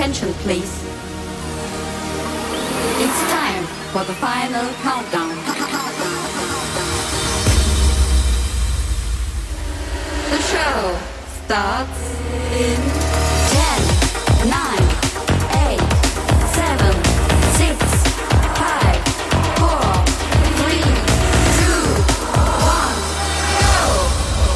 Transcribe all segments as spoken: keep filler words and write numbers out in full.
attention, please. It's time for the final countdown. The show starts in ten, nine, eight, seven, six, five, four, three, two, one, go!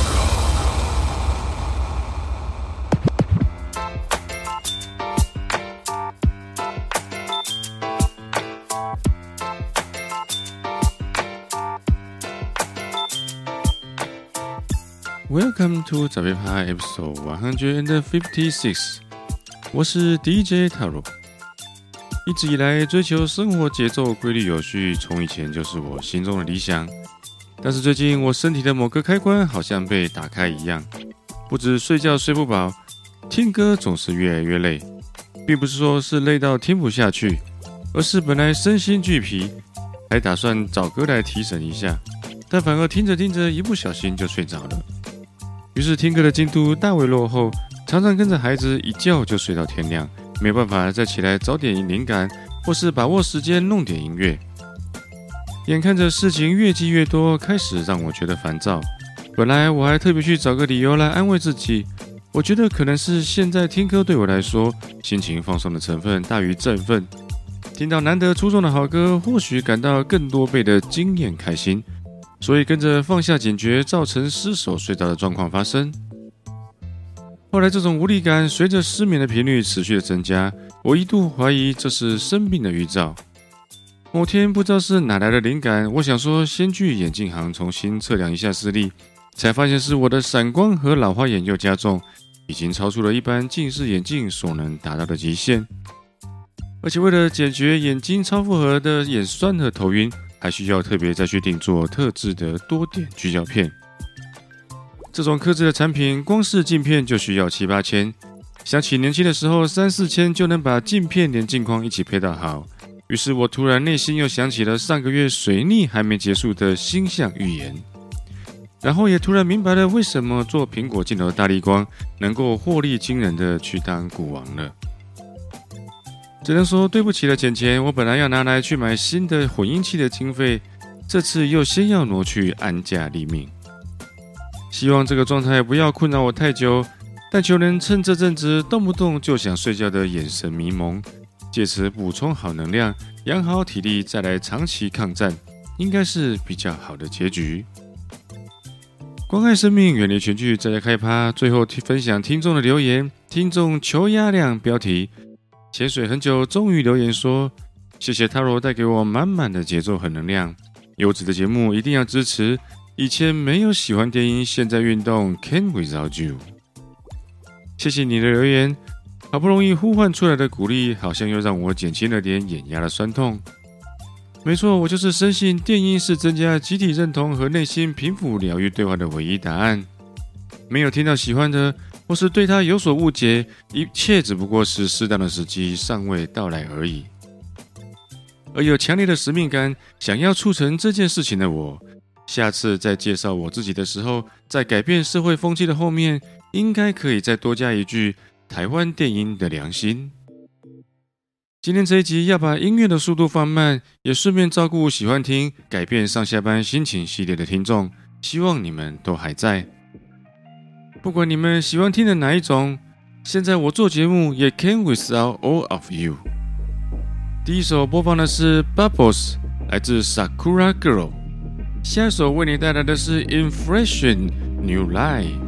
Welcome to 早被趴 episode one fifty-six， 我是 D J Taro。一直以來追求生活節奏規律有序，從以前就是我心中的理想。但是最近我身體的某個開關好像被打開一樣，不止睡覺睡不飽，聽歌總是越來越累。並不是說是累到聽不下去，而是本來身心俱疲，還打算找歌來提神一下，但反而聽着聽着一不小心就睡着了。於是聽歌的進度大為落後，常常跟着孩子一覺就睡到天亮，沒辦法再起來找點靈感，或是把握時間弄點音樂。眼看着事情越積越多，開始讓我覺得煩躁。本來我還特別去找個理由來安慰自己，我覺得可能是現在聽歌對我來說，心情放鬆的成分大於振奮。聽到難得出眾的好歌，或許感到更多倍的驚豔開心。所以跟着放下警覺，造成失手睡着的狀況發生。後來這種無力感隨着失眠的頻率持續的增加，我一度懷疑這是生病的預兆。某天不知道是哪來的靈感，我想說先去眼鏡行重新測量一下視力，才發現是我的散光和老花眼又加重，已經超出了一般近視眼鏡所能達到的極限。而且為了解決眼睛超負荷的眼酸和頭暈，還需要特別再去定做特制的多點聚焦片。這種客製的產品，光是鏡片就需要七八千。想起年輕的時候，三四千就能把鏡片連鏡框一起配到好。於是我突然內心又想起了上個月水逆還沒結束的星象預言，然後也突然明白了為什麼做蘋果鏡頭的大立光能夠獲利驚人的去當股王了。只能說對不起了，錢錢，我本來要拿來去買新的混音器的經費，這次又先要挪去安價立命。希望這個狀態不要困擾我太久，但求能趁這陣子動不動就想睡覺的眼神迷蒙，借此補充好能量，養好體力，再來長期抗戰，應該是比較好的結局。關愛生命，遠離群聚，再來開趴。最後分享聽眾的留言，聽眾求壓量標題。潛水很久，終於留言說：“謝謝 Taro 帶給我滿滿的節奏和能量，優質的節目一定要支持。以前沒有喜歡電音，現在運動 Can't without you。”謝謝你的留言，好不容易呼喚出來的鼓勵，好像又讓我減輕了點眼壓的酸痛。沒錯，我就是深信電音是增加集體認同和內心平撫療癒對話的唯一答案。沒有聽到喜歡的，或是對他有所誤解，一切只不過是適當的時機尚未到來而已。而有強烈的使命感，想要促成這件事情的我，下次在介紹我自己的時候，在改變社會風氣的後面，應該可以再多加一句台灣電音的良心。今天這一集要把音樂的速度放慢，也順便照顧喜歡聽改變上下班心情系列的聽眾，希望你們都還在。不管你們喜歡聽的哪一種，現在我做節目也 Can't without all of you。第一首播放的是 Bubbles， 來自 Sakura Girl。下一首為你帶來的是 Inflation New Life。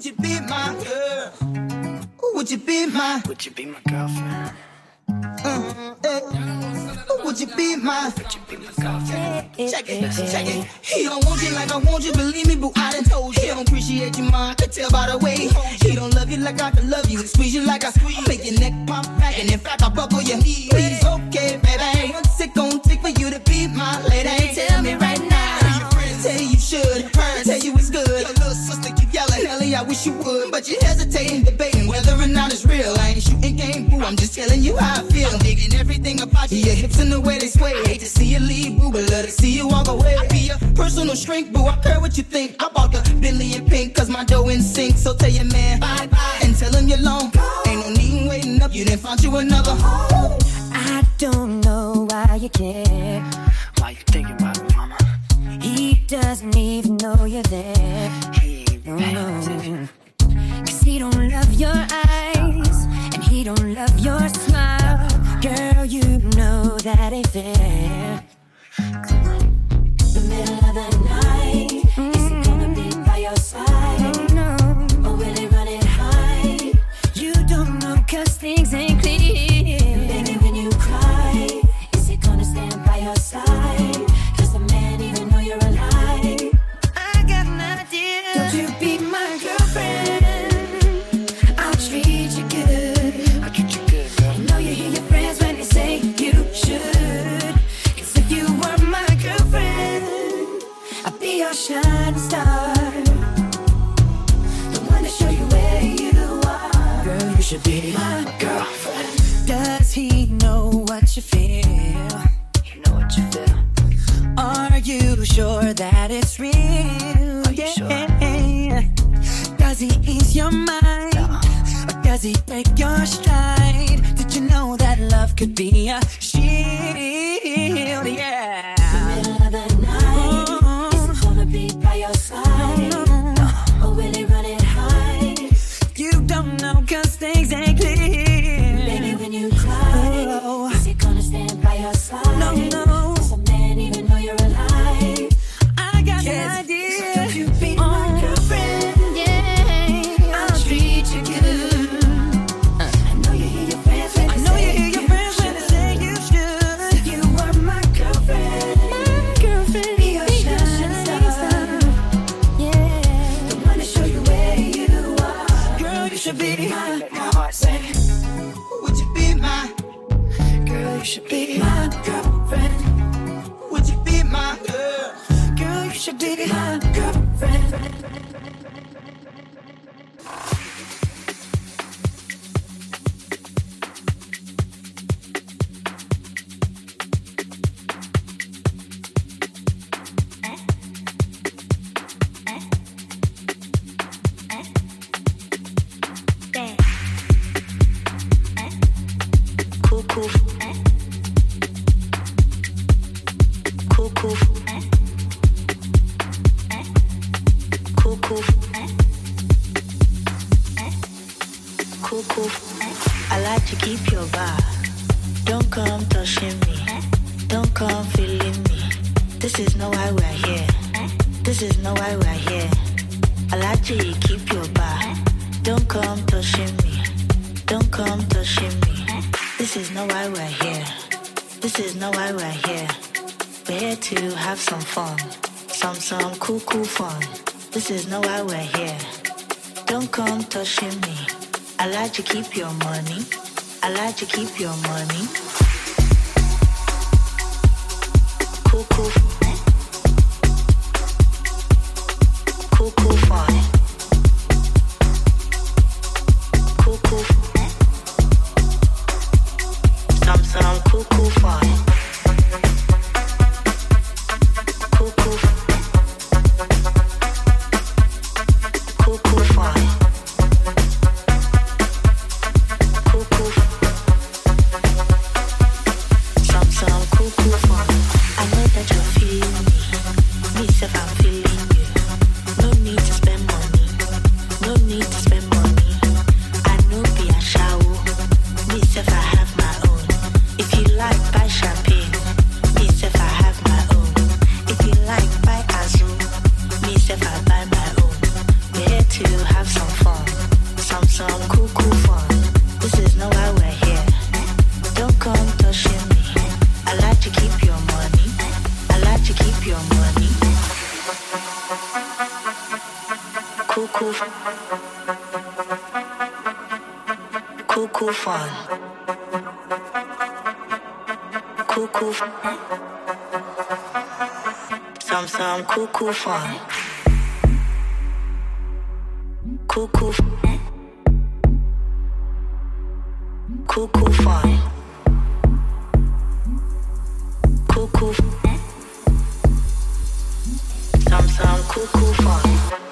Would you be my girl? Would you be my? Would you be my girlfriend? Uh, eh. Would you be my? Would you be my girlfriend? Check it, check it. He don't want you like I want you, believe me, boo. I done told you. He don't appreciate you, ma. I can tell by the way he hold you. He don't love you like I can love you, and squeeze you like I squeeze. I make your neck pop back, and in fact I buckle your knees. Please, okay, baby. What's it gon' take for you to be my lady? Tell me right now. Your friends tell you you should. Parents tell you it's good. Your little sister keep yelling, Ellie, I wish you would, but you hesitating, debating whether or not it's real. I ain't shooting game, boo. I'm just telling you how I feel. I'm digging everything about you, your hips and the way they sway. Hate to see you leave, boo, but love to see you walk away. I be your personal shrink, boo. I care what you think. I bought the Bentley in pink, cause my dough in sync. So tell your man bye bye and tell him you're long. Ain't no need waiting up, you done found you another home. I don't know why you care. Why you thinking about it, mama? He doesn't even know you're there. Hey, No, no. Cause he don't love your eyes, and he don't love your smile. Girl, you know that ain't fair. The middle of the night, mm-hmm. Is he gonna be by your side? No, or will he run it high? You don't know cause things ain't clear. And baby, when you cry, is he gonna stand by your side? Does the man even know you're alive? I got an idea. Don't you be my girlfriend? I'll treat you good. I'll treat you good, girl. I know you hear your friends when they say you should. Cause if you were my girlfriend, I'd be your shining star, the one to show you where you are. Girl, you should be my Girlfriend. Does he know what you feel? You know what you feel. Are you sure that it's real? Are you yeah. Sure? Does he ease your mind? No. Or does he break your stride? Did you know that love could be a shield? Yeah. The middle of the night, oh. Is he gonna be by your side? No, no. No. Or will he run it high? You don't know cause things ain't clear. Baby, when you cry, oh. Is he gonna stand by your side? No, no. Does a man even know you're alive? I got yes. An idea. So don't you be oh. my girlfriend? Yeah, I'll treat you good. Uh. I know you hear your friends when I they know say you hear your friends when they say you should. If you were my girlfriend, my girlfriend, be your shining star. Yeah, the one to show you where you are. Girl, you should be my, Let my heart say, Would you be my? girl, you should be my girlfriend. Would you be my girl? Girl, you should be my girlfriend. cool, cool. Cool, cool. Cool, cool. Cool, cool. I like to keep your vibe. Don't come touching me. Don't come feeling me. This is not why we're here. This is not why we're here. I like to keep your vibe. Don't come touching me. Don't come touching me. This is not why we're here. This is not why we're here. We're here to have some fun. Some, some cool, cool fun. This is not why we're here. Don't come touching me. I like to keep your money. I like to keep your money. Cool, cool. Cool, cool fun. Cool, cool. Some, some cool, cool fun. Cool, cool. Cool, cool fun. Cool, cool. Some, some cool, cool fun. I know that you're feeling me. Me, self, I'm feeling you. No need to spend money. some cool, cool fun. This is not why we're here. Don't come touching me. I like to keep your money. I like to keep your money. Cool, cool. Cool, cool fun. Cool, cool. Some, some cool, cool fun. Cool, cool. Cool, cool fun. Cool, cool. Some, some cool, cool fun.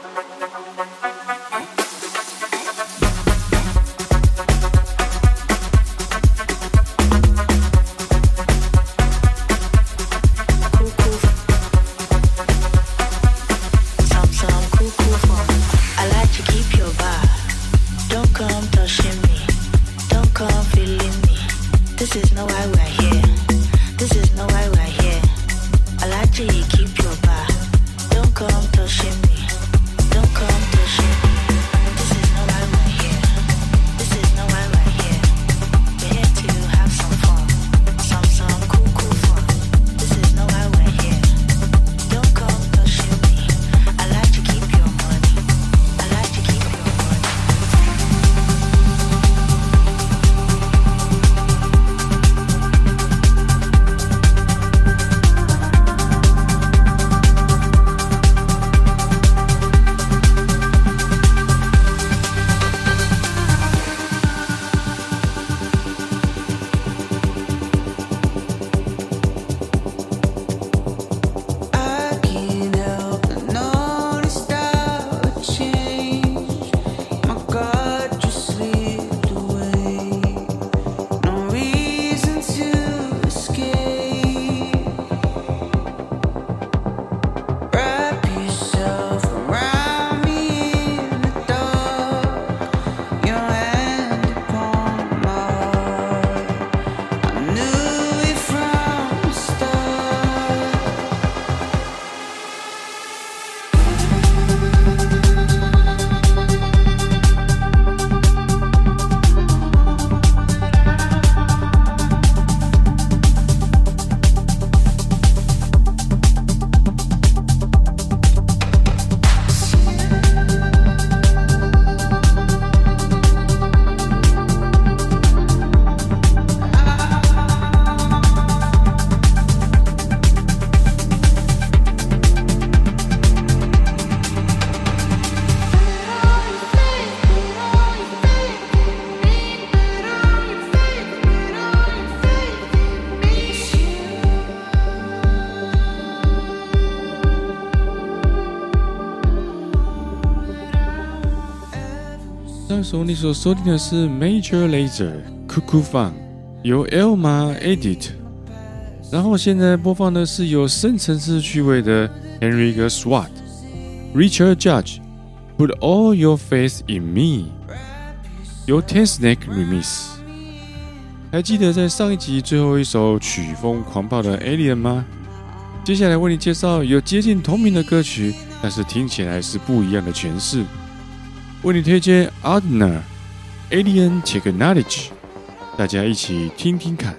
上首你所收聽的是 Major Lazer Cuckoo Fun， 由 Elma Edit， 然後現在播放的是有深層次趣味的 Henrik Swart、Richard Judge、Put All Your Faith in Me， 由 Tensnack Remix。還記得在上一集最後一首曲風狂暴的 Alien 嗎？接下來為你介紹有接近同名的歌曲，但是聽起來是不一樣的詮釋。為你推薦 Adner Alien Technology， 大家一起聽聽看。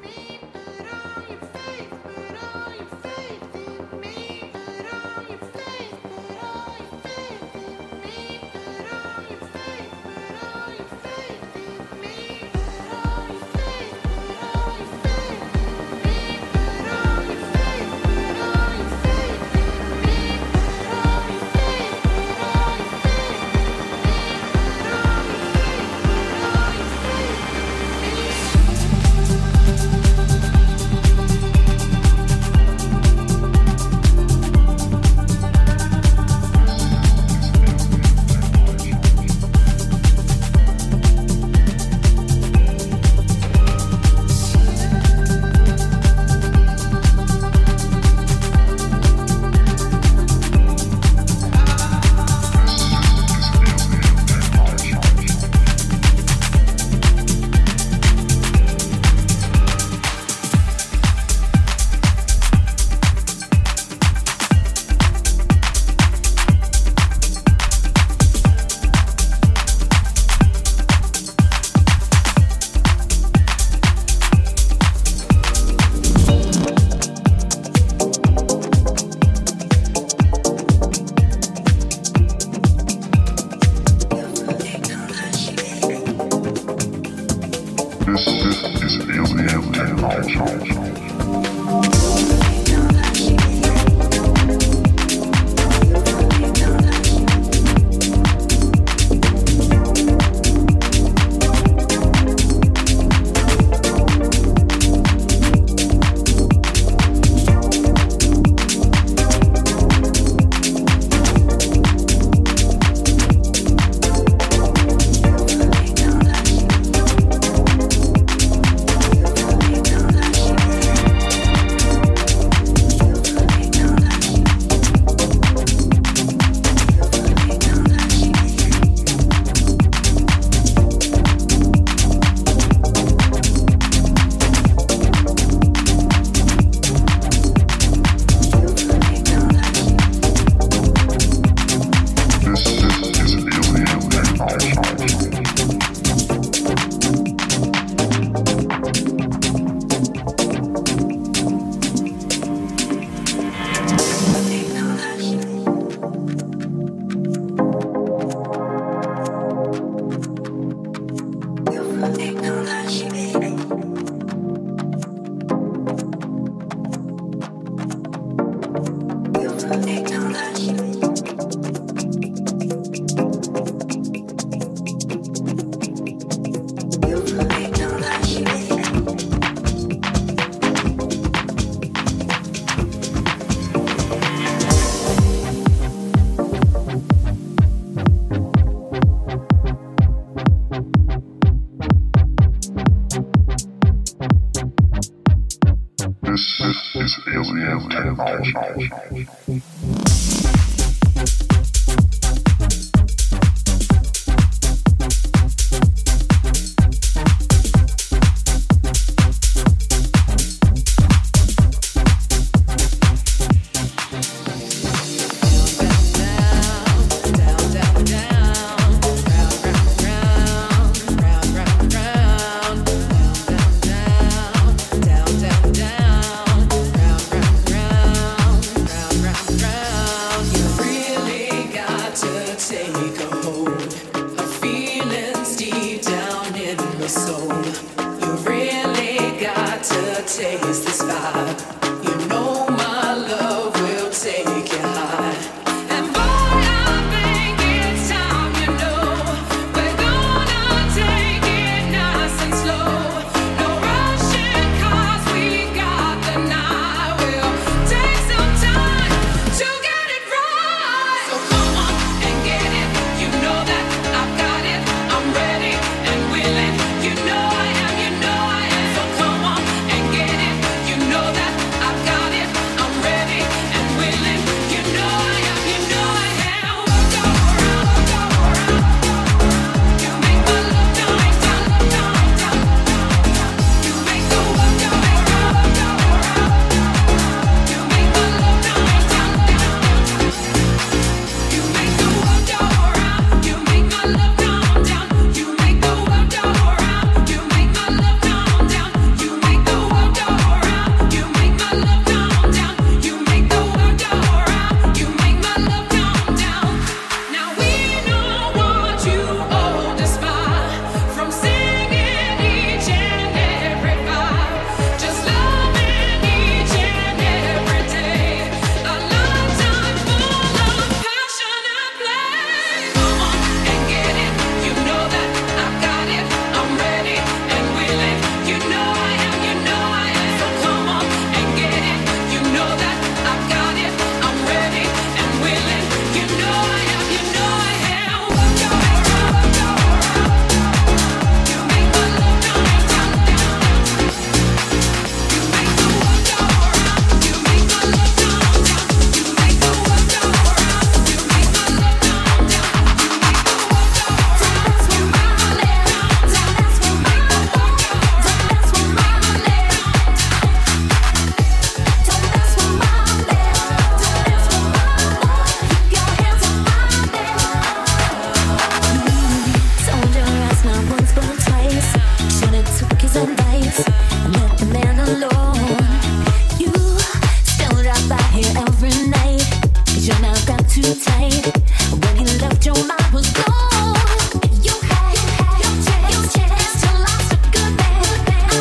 Your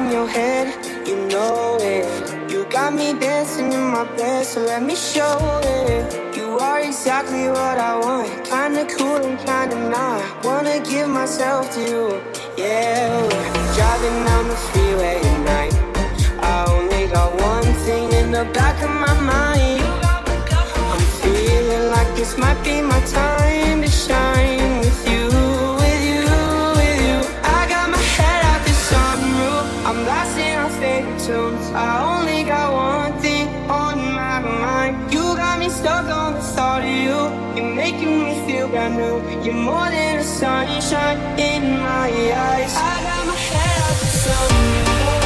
in your head, you know it. You got me dancing in my bed, so let me show it. You are exactly what I want, kinda cool and kinda not. Wanna give myself to you, yeah. Driving down the freeway at night, I only got one thing in the back of my mind. I'm feeling like this might be my time to shine with you, with you, with you. I got my head out the sunroof, I'm blasting our favorite tunes. I only got one thing on my mind. You got me stuck on the thought of you. You're making me feel brand new. You're more than a sunshine in my eyes. I got my head out the sunroof.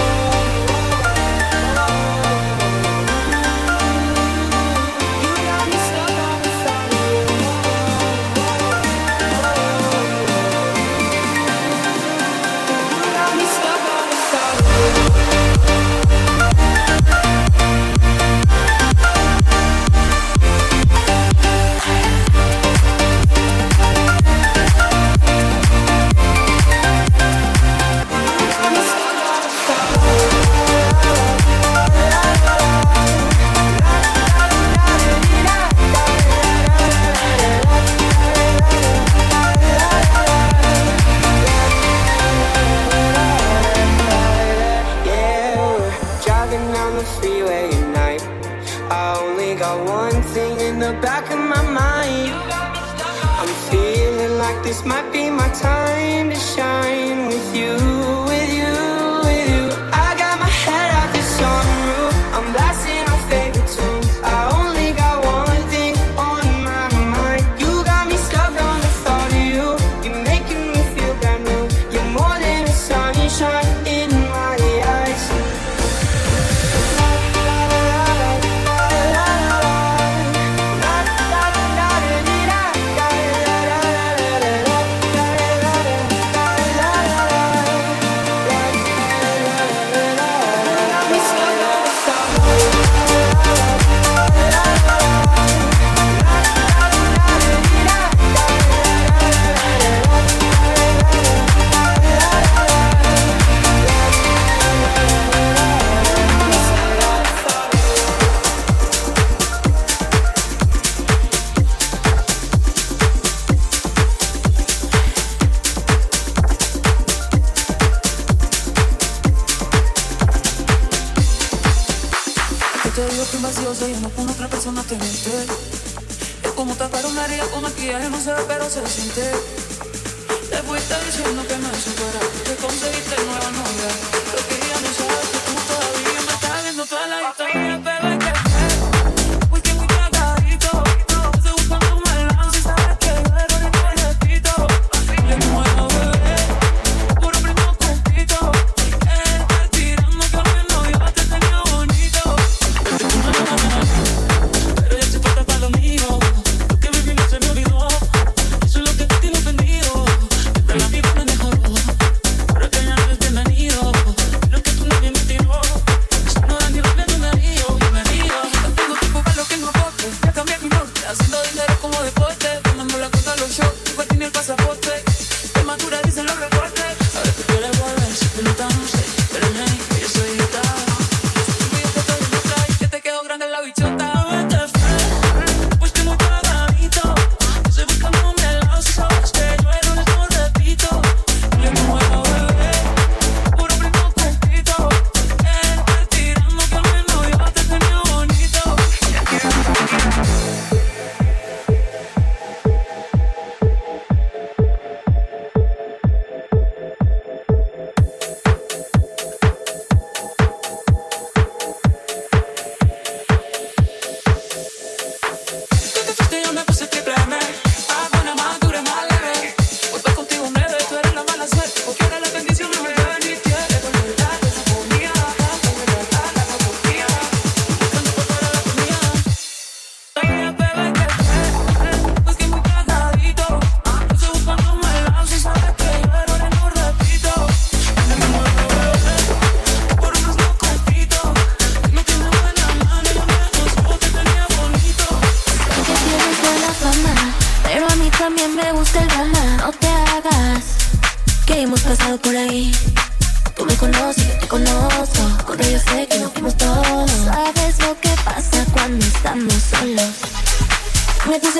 This might be my time to shine with you, with you, with you. I got my head out the sunroof, I'm blasting our favorite tunes. I only got one thing on my mind. You got me stuck on the thought of you. You're making me feel brand new. You're more than a sunshine in my eyes. Se llenó con otra persona, te miente. Es como tapar una herida con maquillaje, no se ve pero se siente. Te fuiste diciendo que me supera, que conseguiste nueva novia. Lo que ella no sabe es que tú todavía me estás viendo toda la historia. Pero es que fuiste muy cagadito. Estoy buscando un balance y sabes que yo de error no le quito. Le muero, bebé, puro primo compito. Estás tirando que al menos yo te tenía bonito. Pero ya se falta para lo mío. Lo que viví no se me olvidó. Eso es lo que te tiene ofendido. Siempre la vida me mejoró. Pero que ya no es bienvenido.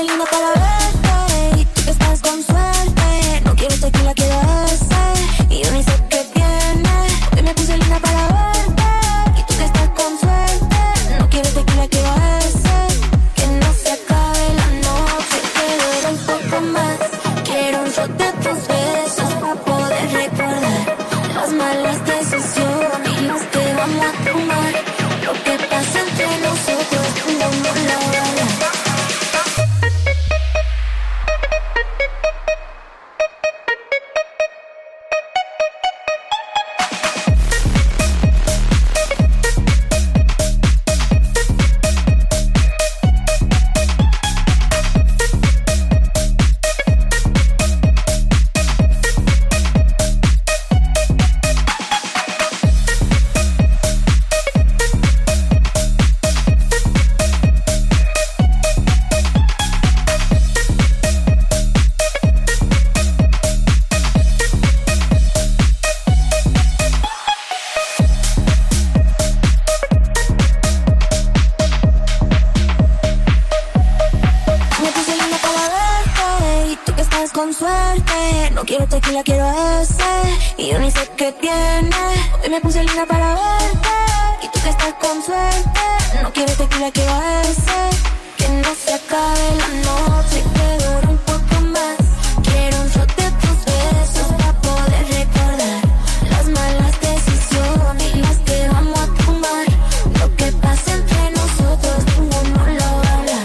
puse linda para verte y tú que estás con suerte. No quiero tequila, quiero ese y yo ni sé qué tiene. Hoy me puse linda para verte y tú que estás con suerte. No quiero tequila, quiero ese. Que no se acabe la noche, que dure un poco más. Quiero un shot de tus besos para poder recordar las malas decisiones y las que vamos a tomar. Lo que pasa entre nosotros no nos lo hablará. Con suerte, no quiero tequila, quiero ese y yo ni sé qué tiene. Hoy me puse linda para verte y tú que estás con suerte. No quiero tequila, quiero ese. Que no se acabe la noche, que dure un poco más. Quiero un shot de tus besos para poder recordar las malas decisiones y las que vamos a tomar. Lo que pasa entre nosotros ninguno no lo va a hablar.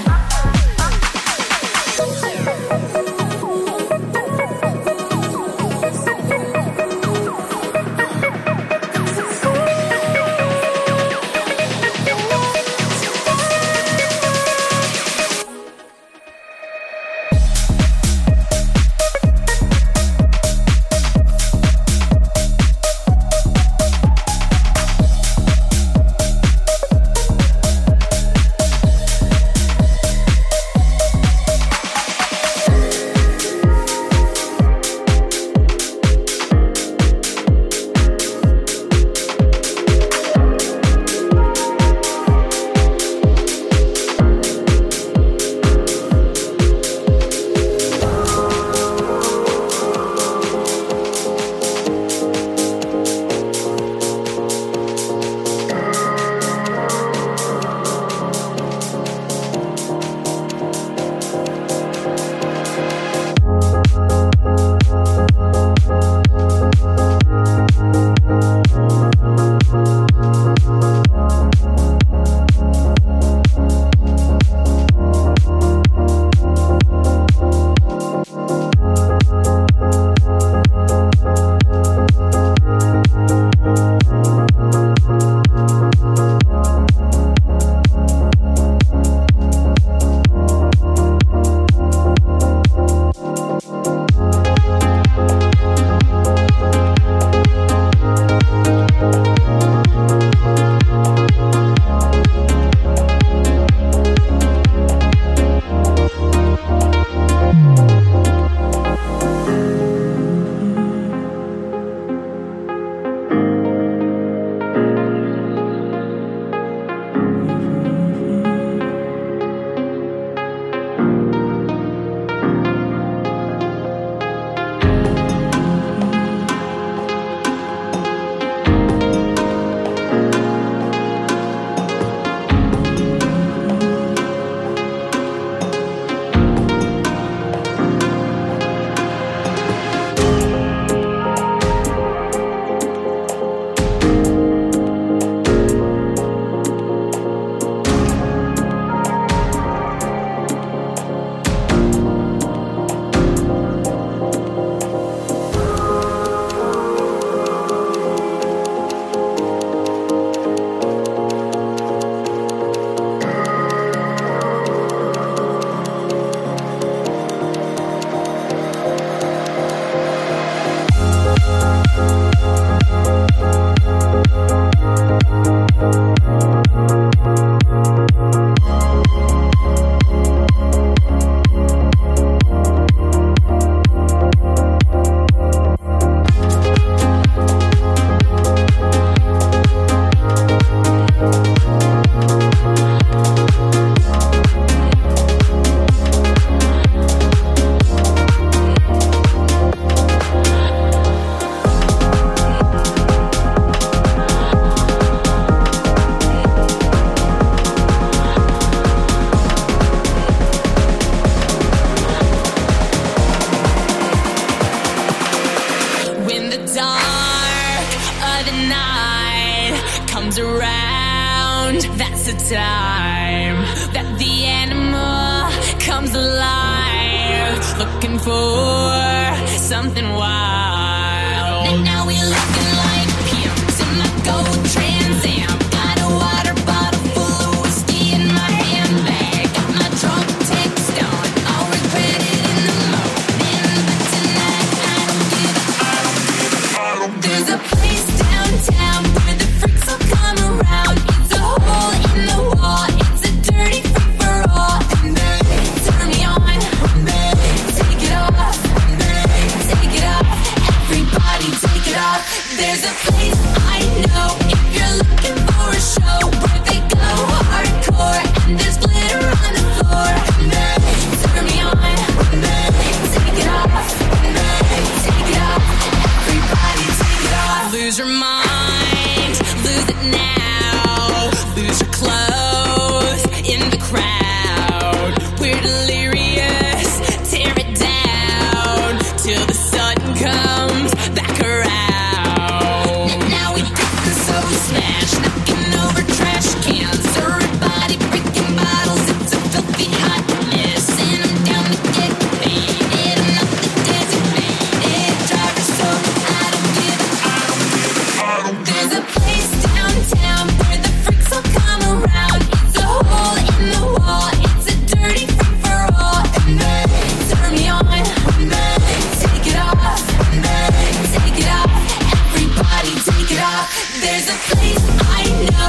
comes around, that's the time that the animal comes alive, looking for something wild. And now we're looking like pimps in my gold Trans Am. Got a water bottle full of whiskey in my handbag. Got my drunk text on, I'll regret it in the morning. But tonight I don't give a, I don't give a, I don't give a. There's a place downtown where the freaks will come around. It's a hole in the wall, it's a dirty freak for all. And they turn me on, and they take it off, and they take it off. Everybody take it off. There's a place I know if you're looking for a show where they go hardcore and there's glitter on the floor. And they turn me on, and they take it off, and they take it off. Everybody take it off. Lose your mind, lose it now. Lose your clothes in the crowd. We're delirious, tear it down till the sun comes back around. And now we get the soul smash, knocking over trash cans. Everybody breaking bottles, it's a filthy hot mess. And I'm down to get faded, I'm not the designated driver, so I don't give a, I don't give a, I don't give a. There's a place downtown where the freaks will come around. It's a hole in the wall, it's a dirty freak for all. And they turn me on, and they take it off, and they take it off. Everybody take it off. There's a place I know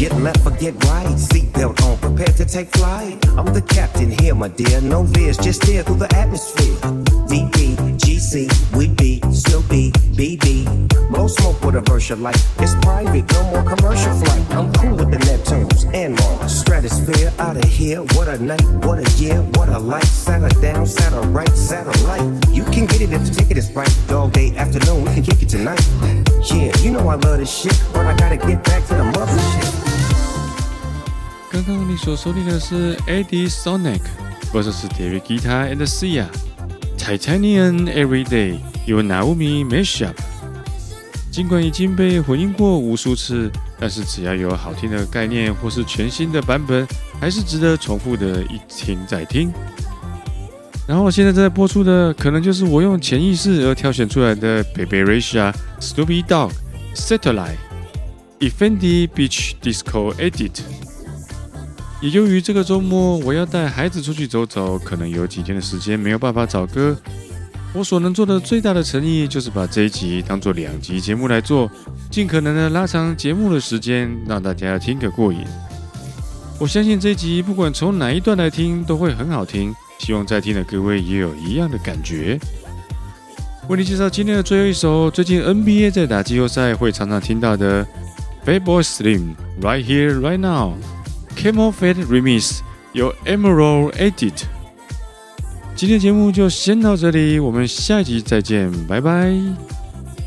Get left or get right, seatbelt on, prepare to take flight. I'm the captain here, my dear, no veers, just steer through the atmosphere. D P, G C, we be, Snoopy, B B. Blow smoke with a Versha light, it's private, no more commercial flight. I'm cool with the Neptunes and Mars. Stratosphere, out of here, what a night, what a year, what a life. Saddle down, saddle right, satellite. You can get it if the ticket is right. Dog day afternoon, we can kick it tonight. Yeah, you know I love this shit, but I gotta get back to the mothership. 刚刚你所收听的是 Eddie Sonic versus David Guetta and Sia Titanium Everyday 由 Naomi Mashup。尽管已经被混音過無數次，但是只要有好聽的概念或是全新的版本，還是值得重複的一聽再聽。然後現在在播出的，可能就是我用潛意識而挑選出來的 Pepe Reisha Snoopy Dogg Satellite Effendi Beach Disco Edit。也由於這個週末我要帶孩子出去走走，可能有幾天的時間沒有辦法找歌。我所能做的最大的誠意，就是把這一集當做兩集節目來做，盡可能的拉長節目的時間，讓大家聽個過癮。我相信這一集不管從哪一段來聽都會很好聽，希望在聽的各位也有一樣的感覺。為你介紹今天的最後一首，最近 N B A 在打季後賽會常常聽到的 Fatboy Slim Right Here Right Now。Camel Fat Remix 由 Emerald Edit。今天節目就先到這裡，我們下一集再見，拜拜。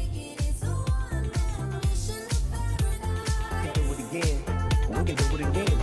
We can do it again. We can do it again.